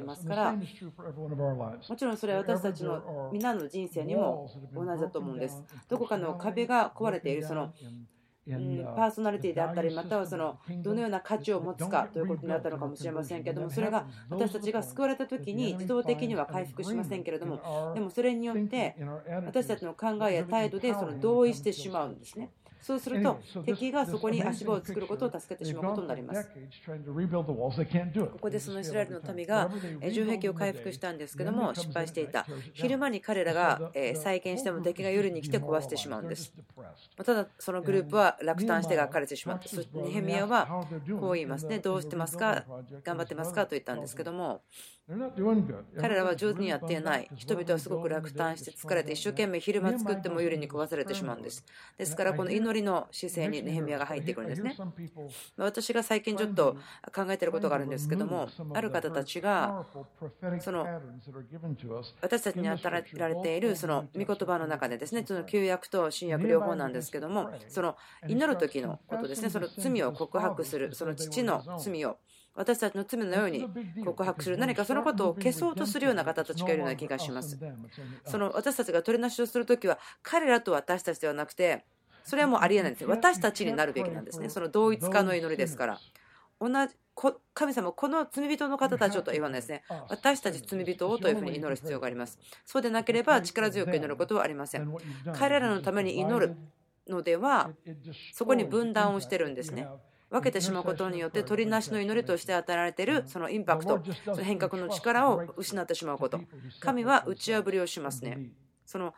りますから、もちろんそれは私たちの皆の人生にも同じだと思うんです。どこかの壁が壊れている、そのパーソナリティであったり、またはそのどのような価値を持つかということになったのかもしれませんけれども、それが私たちが救われた時に自動的には回復しませんけれども、でもそれによって私たちの考えや態度でその同意してしまうんですね。そうすると敵がそこに足場を作ることを助けてしまうことになります。ここでそのイスラエルの民が城壁を回復したんですけども失敗していた。昼間に彼らが再建しても敵が夜に来て壊してしまうんです。ただそのグループは落胆してがかれてしまった。そしてネヘミヤはこう言いますね。どうしてますか、頑張ってますかと言ったんですけども、彼らは上手にやっていない。人々はすごく落胆して疲れて一生懸命昼間作っても夜に壊されてしまうんです。ですからこの祈りの姿勢にネヘミヤが入ってくるんですね。私が最近ちょっと考えていることがあるんですけども、ある方たちがその私たちに与えられているその御言葉の中でですね、その旧約と新約両方なんですけども、その祈る時のことですね、その罪を告白する、その父の罪を私たちの罪のように告白する、何かそのことを消そうとするような方たちがいるような気がします。その私たちが取りなしをするときは彼らと私たちではなくて、それはもうありえないんですよ。私たちになるべきなんですね。その同一化の祈りですから、 神様、この罪人の方たちをとは言わないですね。私たち罪人をというふうに祈る必要があります。そうでなければ力強く祈ることはありません。彼らのために祈るのでは、そこに分断をしてるんですね。分けてしまうことによって取りなしの祈りとして与えられているそのインパクト、その変革の力を失ってしまうこと。神は打ち破りをしますね。その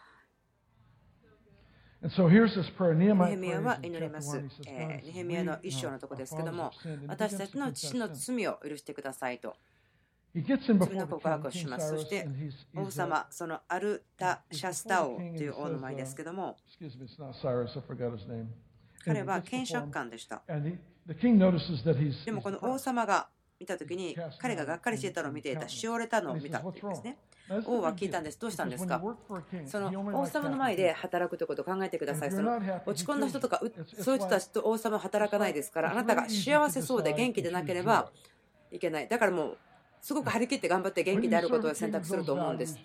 ネヘミヤは祈ります。ネヘミヤの一章のところですけども、私たちの父の罪を許してくださいと罪の告白をします。そして王様、そのアルタシャスタ王という王の前ですけども、彼は検察官でした。でもこの王様が見たときに、彼ががっかりしていたのを見ていた、しおれたのを見たというんですね。王は聞いたんです。どうしたんですか。その王様の前で働くということを考えてください。その落ち込んだ人とか、そういう人たちと王様は働かないですから、あなたが幸せそうで元気でなければいけない。だからもう、すごく張り切って頑張って元気であることを選択すると思うんです。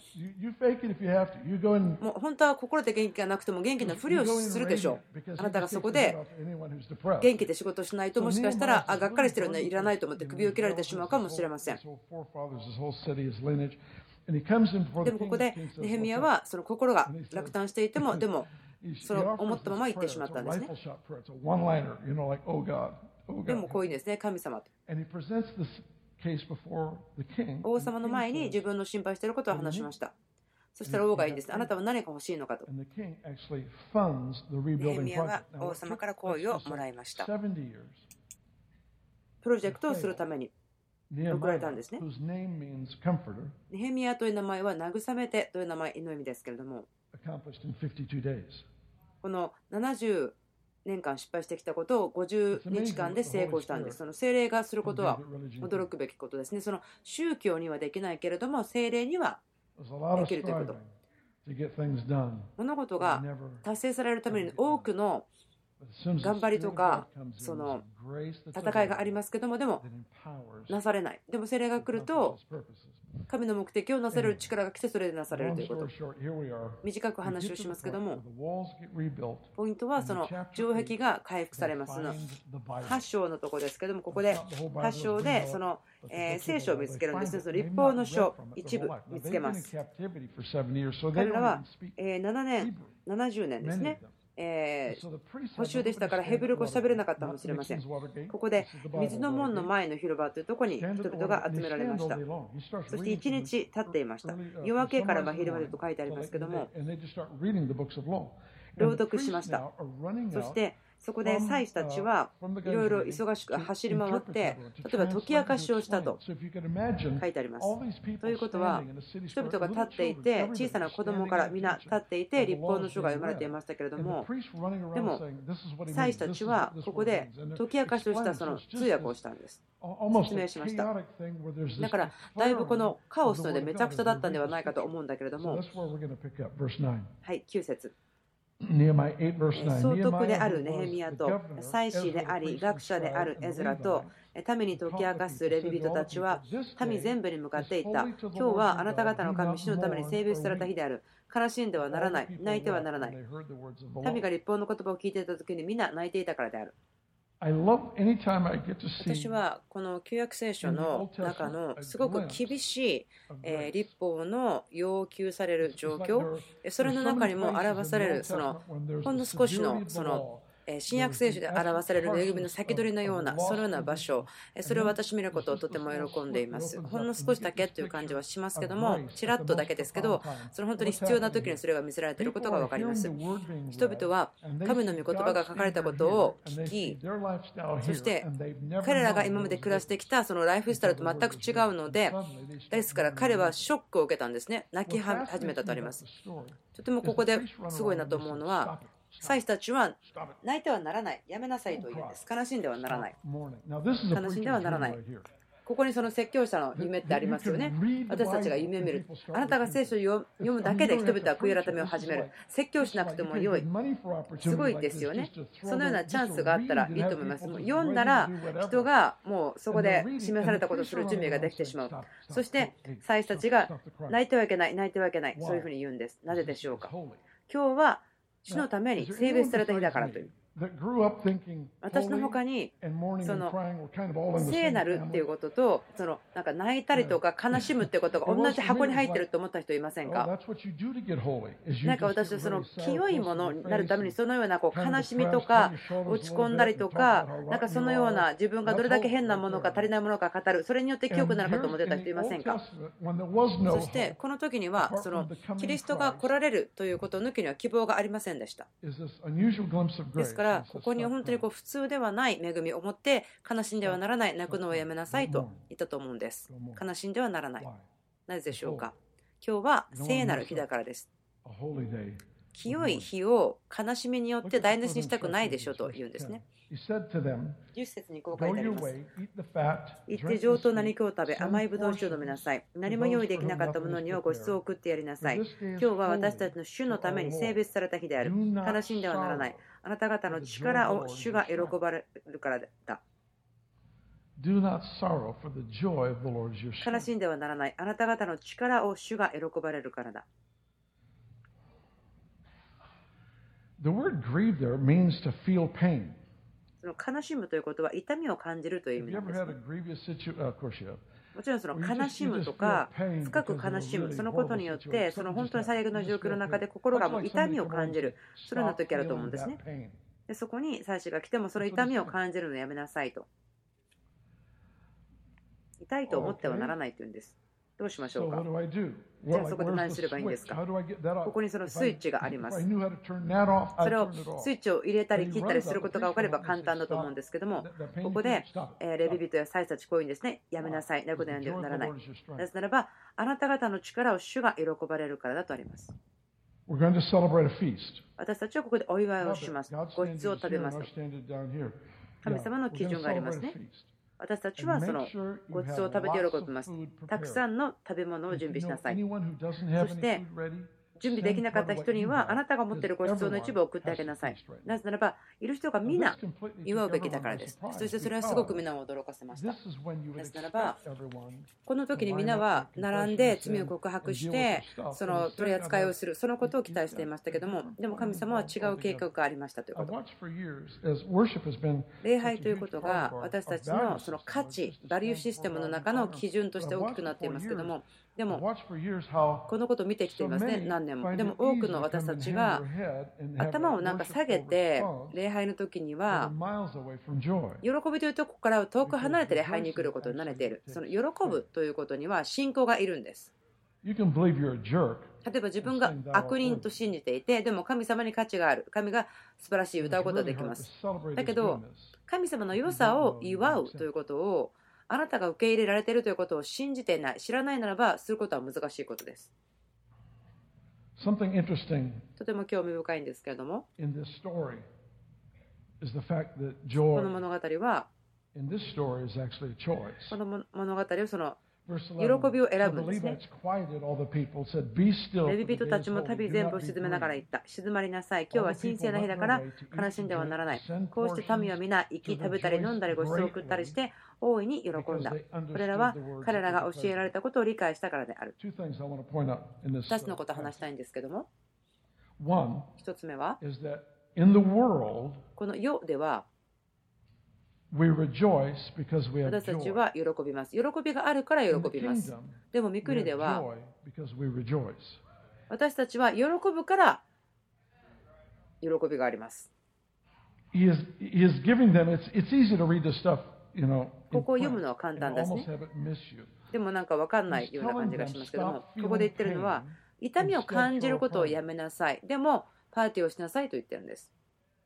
もう本当は心で元気がなくても元気なふりをするでしょう。あなたがそこで元気で仕事しないと、もしかしたらがっかりしてるのはいらないと思って首を切られてしまうかもしれません。でもここでネヘミヤはその心が落胆していても、でもその思ったまま言ってしまったんですね。でもこういうんですね、神様と。王様の前に自分の心配していることを話しました。そしたら王がいいんです。あなたは何が欲しいのかと。ネヘミヤは王様から好意をもらいました。プロジェクトをするために送られたんですね。ネヘミヤという名前は慰めてという名前の意味ですけれども、この70年間失敗してきたことを50日間で成功したんです。その聖霊がすることは驚くべきことですね。その宗教にはできないけれども、聖霊にはできるということ。物事が達成されるために多くの頑張りとかその戦いがありますけども、でもなされない。でも聖霊が来ると神の目的をなされる力が来て、それでなされるということ。短く話をしますけども、ポイントはその城壁が回復されます。8章のところですけども、ここで8章でその聖書を見つけるんですね。その律法の書一部見つけます。彼らは7年70年ですね、補修でしたからヘブル語を喋れなかったかもしれません。ここで水の門の前の広場というところに人々が集められました。そして1日経っていました。夜明けから真昼までと書いてありますけども、朗読しました。そしてそこで祭司たちはいろいろ忙しく走り回って、例えば解き明かしをしたと書いてあります。ということは、人々が立っていて、小さな子供から皆立っていて、律法の書が読まれていましたけれども、でも祭司たちはここで解き明かしをしたその通訳をしたんです。説明しました。だからだいぶこのカオスのでめちゃくちゃだったんではないかと思うんだけれども、はい、9節。総督であるネヘミヤと祭司であり学者であるエズラと民に解き明かすレビ人たちは民全部に向かって言った。今日はあなた方の神主のために性別された日である。悲しんではならない、泣いてはならない。民が律法の言葉を聞いていた時に皆泣いていたからである。私はこの旧約聖書の中のすごく厳しい律法の要求される状況、それの中にも表されるそのほんの少しのその新約聖書で表される恵みの先取りのようなそのような場所、それを私見ることをとても喜んでいます。ほんの少しだけという感じはしますけども、ちらっとだけですけど、それ本当に必要な時にそれが見せられていることが分かります。人々は神の御言葉が書かれたことを聞き、そして彼らが今まで暮らしてきたそのライフスタイルと全く違うので、ですから彼はショックを受けたんですね。泣き始めたとあります。とてもここですごいなと思うのは、祭司たちは泣いてはならない、やめなさいと言うんです。悲しんではならない、悲しんではならない。ここにその説教者の夢ってありますよね。私たちが夢を見る。あなたが聖書を読むだけで人々は悔い改めを始める。説教しなくてもよい。すごいですよね。そのようなチャンスがあったらいいと思います。もう読んだら人がもうそこで示されたことをする準備ができてしまう。そして祭司たちが泣いてはいけない、泣いてはいけない、そういうふうに言うんです。なぜでしょうか。今日は主のために性別された日だからという。 私の他にその聖なるっていうこととなんか泣いたりとか悲しむっていうことが同じ箱に入ってると思った人いませんか？なんか私はその清いものになるためにそのような悲しみとか落ち込んだりとかなんかそのような自分がどれだけ変なものか足りないものか語るそれによって清くなるかと思ってた人いませんか？そしてこの時にはそのキリストが来られるということを抜きには希望がありませんでした。ですからここに本当に普通ではない恵みを持って悲しんではならない、泣くのをやめなさいと言ったと思うんです。悲しんではならない。なぜでしょうか？今日は聖なる日だからです。清い日を悲しみによって台無しにしたくないでしょうと言うんですね。10節にこう書いてあります。行って上等な肉を食べ、甘いブドウ酒を飲みなさい。何も用意できなかった者にはご馳走を送ってやりなさい。今日は私たちの主のために性別された日である。悲しんではならない。あなた方の力を主が喜ばれるからだ。悲しんではならない。あなた方の力を主が喜ばれるからだ。 The word grieve there means to feel pain. その悲しむということは痛みを感じるという意味なんです、ね。もちろんその悲しむとか深く悲しむそのことによってその本当に最悪の状況の中で心がもう痛みを感じるそのような時あると思うんですね。でそこに祭司が来てもその痛みを感じるのをやめなさいと。痛いと思ってはならないというんです。どうしましょうか？じゃあそこで何すればいいんですか？ここにそのスイッチがあります。それをスイッチを入れたり切ったりすることが分かれば簡単だと思うんですけども、ここでレビ人や祭司たちこういうんですね。やめなさい。泣くことやんではならない。なぜならばあなた方の力を主が喜ばれるからだとあります。私たちはここでお祝いをします。ごちそうを食べますと。神様の基準がありますね。私たちはそのごちそうを食べて喜びます。たくさんの食べ物を準備しなさい。そして準備できなかった人にはあなたが持っているごちそうの一部を送ってあげなさい。なぜならばいる人が皆祝うべきだからです。そしてそれはすごく皆を驚かせました。なぜならばこの時に皆は並んで罪を告白してその取り扱いをするそのことを期待していましたけども、でも神様は違う計画がありましたということ。礼拝ということが私たちのその価値バリューシステムの中の基準として大きくなっていますけども、でもこのことを見てきていますね、何年も。でも多くの私たちが頭をなんか下げて礼拝の時には喜びというところから遠く離れて礼拝に来ることに慣れている。その喜ぶということには信仰がいるんです。例えば自分が悪人と信じていてでも神様に価値がある、神が素晴らしい歌うことができます。だけど神様の良さを祝うということをあなたが受け入れられているということを信じていない、知らないならばすることは難しいことです。とても興味深いんですけれども、この物語はこの物語をその喜びを選ぶんですね。レビ人たちも旅全部を沈めながら言った。静まりなさい。今日は神聖な日だから悲しんではならない。こうして民は皆生き食べたり飲んだりご馳走を送ったりして大いに喜んだ。これらは彼らが教えられたことを理解したからである。2つのことを話したいんですけども、1つ目はこの世では私たちは喜びます。喜びがあるから喜びます。でも御国では私たちは喜ぶから喜びがあります。ここを読むのは簡単ですね。でもなんか分かんないような感じがしますけども、ここで言ってるのは痛みを感じることをやめなさい。でもパーティーをしなさいと言ってるんです。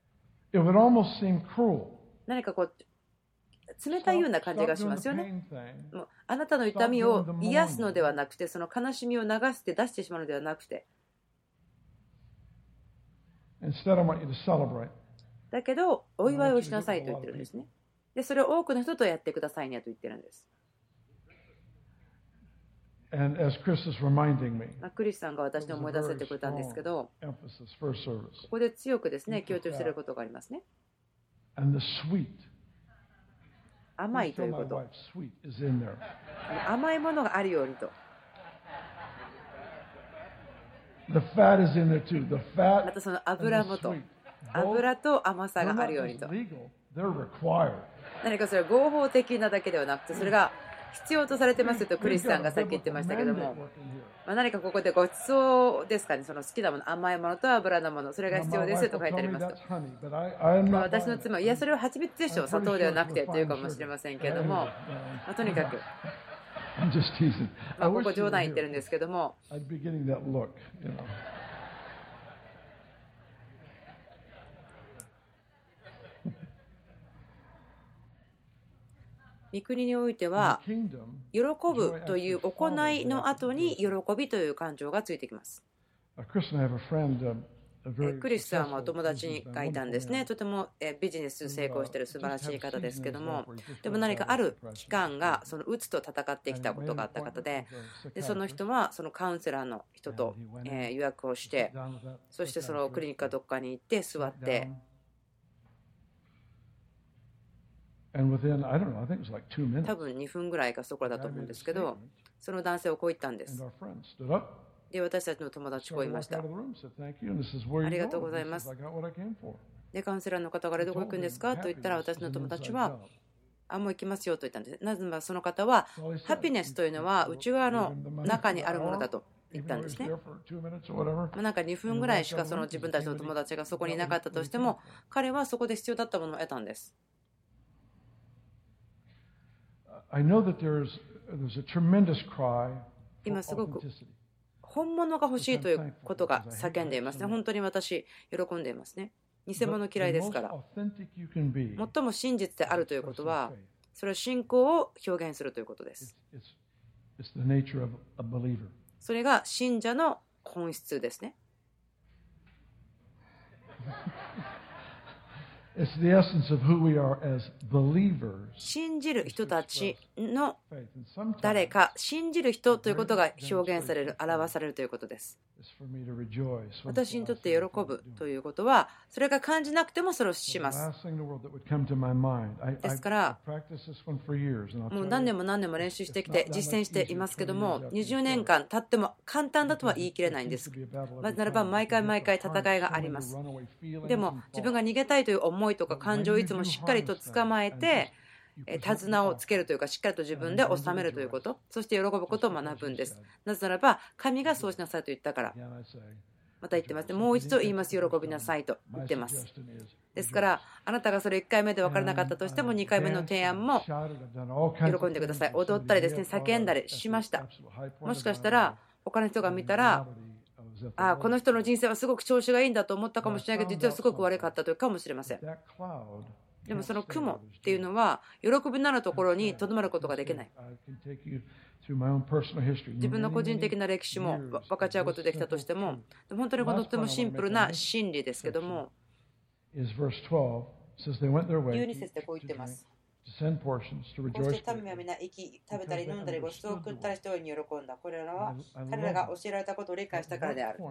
何かこう冷たいような感じがしますよね。もうあなたの痛みを癒すのではなくて、その悲しみを流して出してしまうのではなくて、だけどお祝いをしなさいと言ってるんですね。でそれを多くの人とやってくださいねと言ってるんです。クリスさんが私に思い出せてくれたんですけど、ここで強くですね強調していることがありますね。甘いということ、甘いものがあるようにと。またその油もと、 油と甘さがあるようにと。何かそれは合法的なだけではなくて、それが必要とされてますとクリスさんがさっき言ってましたけども、何かここでごちそうですかね、その好きなもの、甘いものと油のもの、それが必要ですと書いてありますと。私の妻は、いや、それは蜂蜜でしょ、砂糖ではなくてというかもしれませんけれども、とにかく、ここ冗談言ってるんですけども、御国においては、喜ぶという行いの後に喜びという感情がついてきます。クリスさんは友達がいたんですね。とてもビジネス成功している素晴らしい方ですけども、でも何かある期間がそのうつと戦ってきたことがあった方で、その人はそのカウンセラーの人と予約をして、そしてそのクリニックかどっかに行って座って、多分2分ぐらいかそこだと思うんですけど、その男性はこう言ったんです。で、私たちの友達こう言いました。ありがとうございます。で、カウンセラーの方からどこ行くんですかと言ったら、私の友達は、もう行きますよと言ったんです。なぜならその方は、ハピネスというのは内側の中にあるものだと言ったんですね。なんか2分ぐらいしかその自分たちの友達がそこにいなかったとしても、彼はそこで必要だったものを得たんです。今すごく本物が欲しいということが叫んでいますね。本当に私、喜んでいますね。偽物嫌いですから。最も真実であるということは、それは信仰を表現するということです。それが信者の本質ですね。信じる人たちの誰か、信じる人ということが表現される、表されるということです。私にとって喜ぶということは、それが感じなくてもそれをします。ですから、もう何年も何年も練習してきて実践していますけども、20年間経っても簡単だとは言い切れないんです。ならば毎回毎回戦いがあります。でも自分が逃げたいという思いとか感情をいつもしっかりと捕まえて、手綱をつけるというか、しっかりと自分で収めるということ、そして喜ぶことを学ぶんです。なぜならば神がそうしなさいと言ったから。また言ってますね。もう一度言います。喜びなさいと言ってます。ですからあなたがそれ1回目で分からなかったとしても2回目の提案も喜んでください。踊ったりですね、叫んだりしました。もしかしたら他の人が見たら、この人の人生はすごく調子がいいんだと思ったかもしれないけど、実はすごく悪かったというかもしれません。でもその雲っていうのは喜びのあるところにとどまることができない。自分の個人的な歴史も分かち合うことできたとしても、本当にとてもシンプルな真理ですけども、12節でこう言ってます。こうして民は皆生き、食べたり飲んだりごちそうを食ったりして大いに喜んだ。これらは彼らが教えられたことを理解したからである。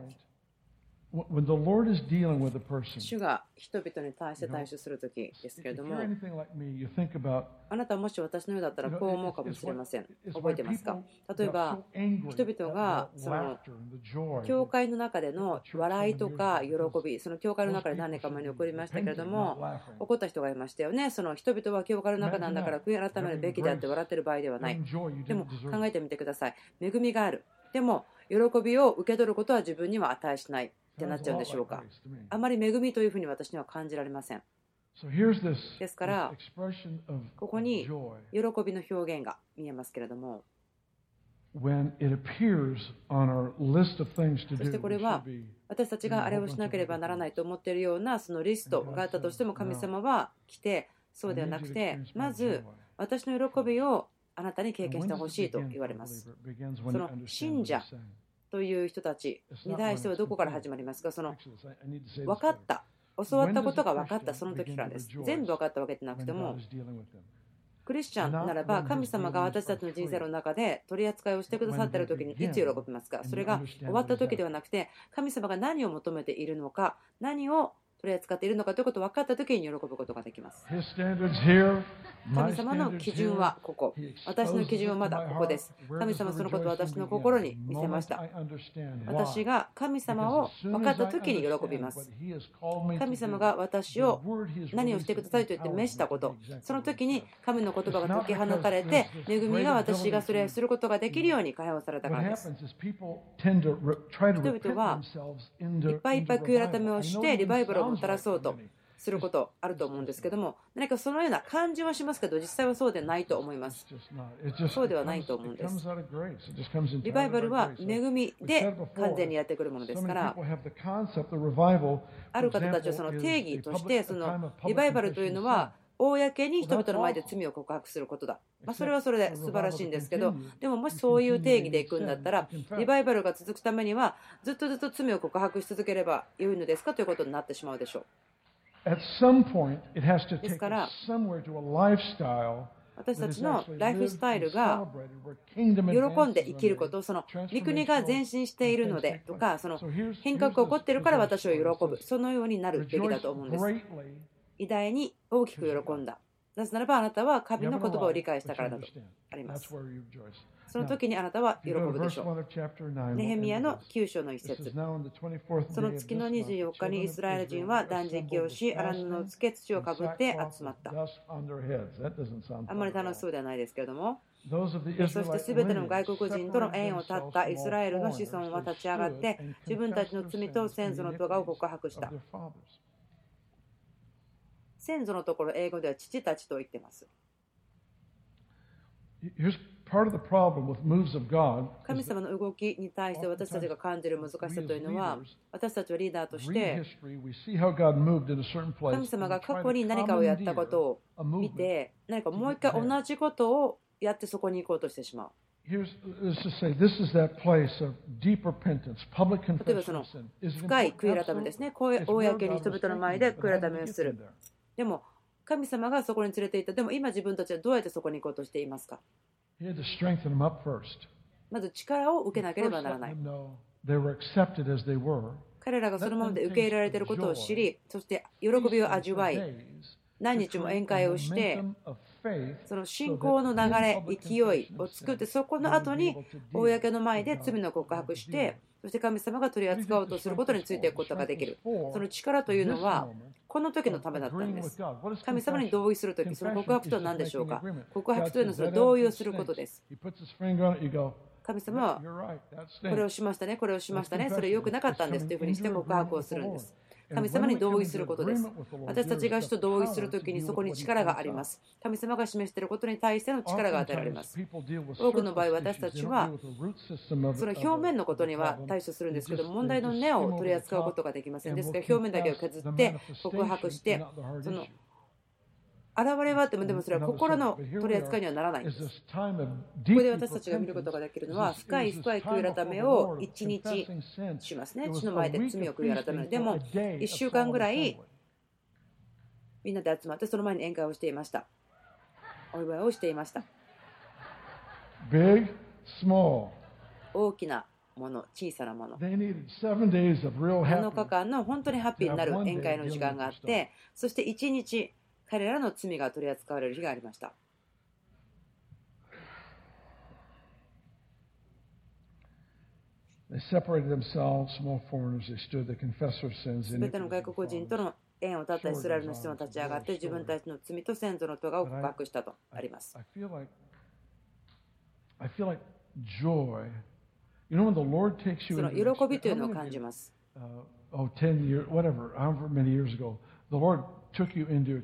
主が人々に対して対処するときですけれども、あなたはもし私のようだったらこう思うかもしれません。覚えてますか？例えば人々がその教会の中での笑いとか喜び、その教会の中で何年か前に起こりましたけれども、怒った人がいましたよね。その人々は教会の中なんだから悔い改めるべきであって笑ってる場合ではない。でも考えてみてください。恵みがある。でも喜びを受け取ることは自分には値しないってなっちゃうんでしょうか。あまり恵みというふうに私には感じられません。ですからここに喜びの表現が見えますけれども、そしてこれは私たちがあれをしなければならないと思っているようなそのリストがあったとしても、神様は来て、そうではなくて、まず私の喜びをあなたに経験してほしいと言われます。その信者という人たちに対してはどこから始まりますか？その分かった、教わったことが分かったその時からです。全部分かったわけでなくても、クリスチャンならば神様が私たちの人生の中で取り扱いをしてくださっている時にいつ喜びますか？それが終わった時ではなくて、神様が何を求めているのか、何を取り扱っているのかということを分かった時に喜ぶことができます。 神様の基準はここ。私の基準はまだここです。神様そのことを私の心に見せました。私が神様を分かった時に喜びます。神様が私を何をしてくださいと言って召したこと、その時に神の言葉が解き放たれて、恵みが私がそれをすることができるように解放されたからです。人々はいっぱいいっぱい悔い改めをしてリバイバルをもたらそうとすることあると思うんですけども、何かそのような感じはしますけど、実際はそうでないと思います。そうではないと思うんです。リバイバルは恵みで完全にやってくるものですから、ある方たちはその定義として、そのリバイバルというのは公に人々の前で罪を告白することだ。それはそれで素晴らしいんですけど、でももしそういう定義でいくんだったら、リバイバルが続くためにはずっと罪を告白し続ければよいのですかということになってしまうでしょう。ですから私たちのライフスタイルが喜んで生きること、その御国が前進しているのでとか、その変革が起こっているから私を喜ぶ、そのようになるべきだと思うんです。偉大に大きく喜んだ。なぜならばあなたは神の言葉を理解したからだとあります。その時にあなたは喜ぶでしょう。ネヘミヤの9章の一節。その月の24日にイスラエル人は断食をし、荒布をつけ土をかぶって集まった。あんまり楽しそうではないですけれども。そしてすべての外国人との縁を絶ったイスラエルの子孫は立ち上がって、自分たちの罪と先祖の咎を告白した。先祖のところ、英語では父たちと言っています。神様の動きに対して私たちが感じる難しさというのは、私たちはリーダーとして神様が過去に何かをやったことを見て、何かもう一回同じことをやってそこに行こうとしてしまう。例えばその深い悔い改めですね。公に人々の前で悔い改めをする。でも神様がそこに連れて行った。でも今自分たちはどうやってそこに行こうとしていますか。まず力を受けなければならない。彼らがそのままで受け入れられていることを知り、そして喜びを味わい、何日も宴会をして、その信仰の流れ、勢いを作って、そこの後に公の前で罪の告白して、そして神様が取り扱おうとすることについていくことができる。その力というのはこの時のためだったんです。神様に同意するとき、その告白とは何でしょうか。告白というのはそれ同意をすることです。神様はこれをしましたね、これをしましたね、それ良くなかったんですというふうにして告白をするんです。神様に同意することです。私たちが主と同意するときにそこに力があります。神様が示していることに対しての力が与えられます。多くの場合私たちはその表面のことには対処するんですけど、問題の根を取り扱うことができません。ですから表面だけを削って告白して、その現れはあっても、でもそれは心の取り扱いにはならないんです。ここで私たちが見ることができるのは、深い悔い改めを1日しますね。主の前で罪を悔い改める。でも1週間ぐらいみんなで集まってその前に宴会をしていました。お祝いをしていました。大きなもの、小さなもの。7日間の本当にハッピーになる宴会の時間があって、そして1日彼らの罪が取り扱われる日がありました。すべての外国人との縁を断ったイスラエルの人が立ち上がって自分たちの罪と先祖の咎を告白したとあります。その喜びというのを感じます。と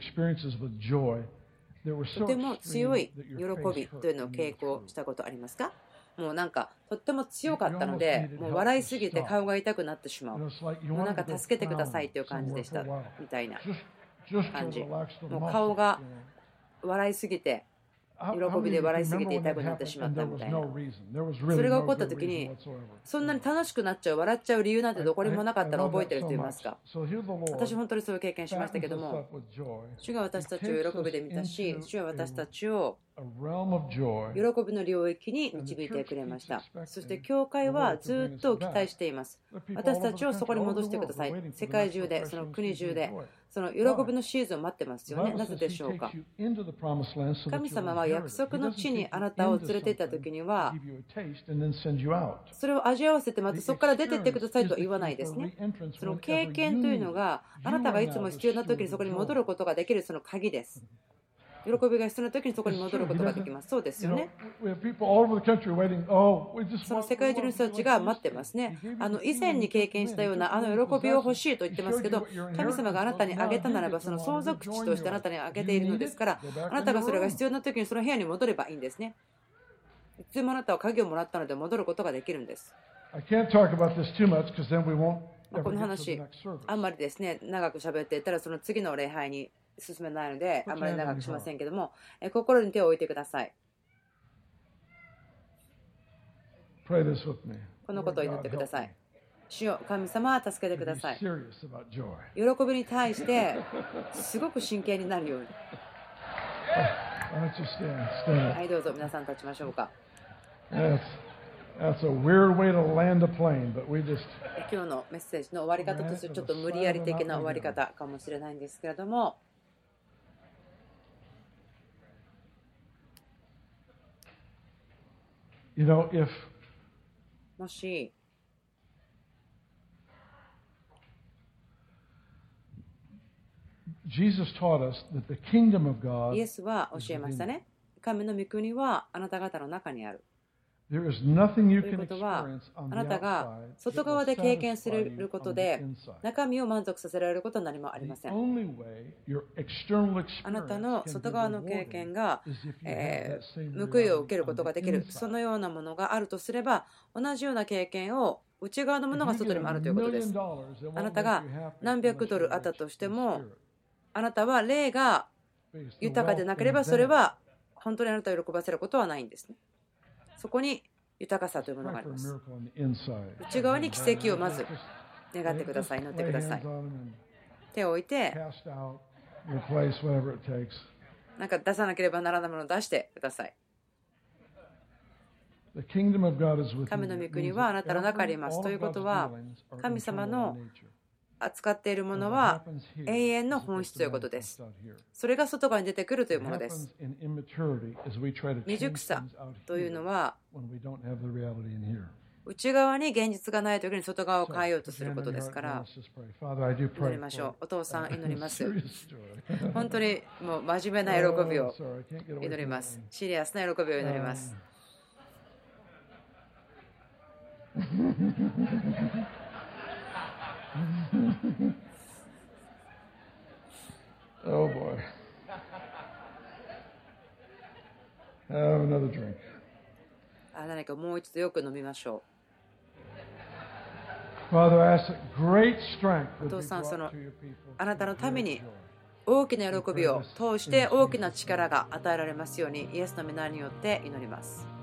ても強い喜びというのを経験したことありますか。もうなんかとっても強かったので、もう笑いすぎて顔が痛くなってしまう。もうなんか助けてくださいという感じでしたみたいな感じ。もう顔が笑いすぎて、喜びで笑いすぎて痛くなってしまったみたいな。それが起こった時に、そんなに楽しくなっちゃう、笑っちゃう理由なんてどこにもなかったのを覚えてる人いますか。私本当にそういう経験しましたけども、主が私たちを喜びで見たし、主は私たちを喜びの領域に導いてくれました。そして教会はずっと期待しています。私たちをそこに戻してください。世界中で、その国中で、その喜びのシーズンを待ってますよね。なぜでしょうか。神様は約束の地にあなたを連れて行った時には、それを味わわせてまたそこから出て行ってくださいとは言わないですね。その経験というのがあなたがいつも必要な時にそこに戻ることができるその鍵です。喜びが必要な時にそこに戻ることができます。そうですよね。その世界中の人たちが待ってますね。以前に経験したような喜びを欲しいと言ってますけど、神様があなたにあげたならばその相続地としてあなたにあげているのですから、あなたがそれが必要な時にその部屋に戻ればいいんですね。いつもあなたは鍵をもらったので戻ることができるんです。この話、あんまりですね、長く喋っていったらその次の礼拝に進めないのであんまり長くしませんけども、心に手を置いてください。このことを祈ってください。主よ、神様は助けてください。喜びに対してすごく真剣になるように。はい、どうぞ皆さん立ちましょうか。今日のメッセージの終わり方としてちょっと無理やり的な終わり方かもしれないんですけれども、もしイエスは教えましたね。神の御国はあなた方の中にある。ということは、あなたが外側で経験することで中身を満足させられることは何もありません。あなたの外側の経験が報いを受けることができる、そのようなものがあるとすれば、同じような経験を内側のものが外にもあるということです。あなたが何百ドルあったとしても、あなたは霊が豊かでなければそれは本当にあなたを喜ばせることはないんですね。そこに豊かさというものがあります。内側に奇跡をまず願ってください。祈ってください。手を置いて、なんか出さなければならないものを出してください。神の御国はあなたの中にあります。ということは、神様の扱っているものは永遠の本質ということです。それが外側に出てくるというものです。未熟さというのは内側に現実がないときに外側を変えようとすることですから、祈りましょう。お父さん、祈ります。本当にもう真面目な喜びを祈ります。シリアスな喜びを祈ります。 Oh boy. Have another drink. 何かもう一度よく飲みましょう。Father, I ask that great strength would be brought to your people. お父さん、そのあなたのために大きな喜びを通して大きな力が与えられますように、イエスの御名によって祈ります。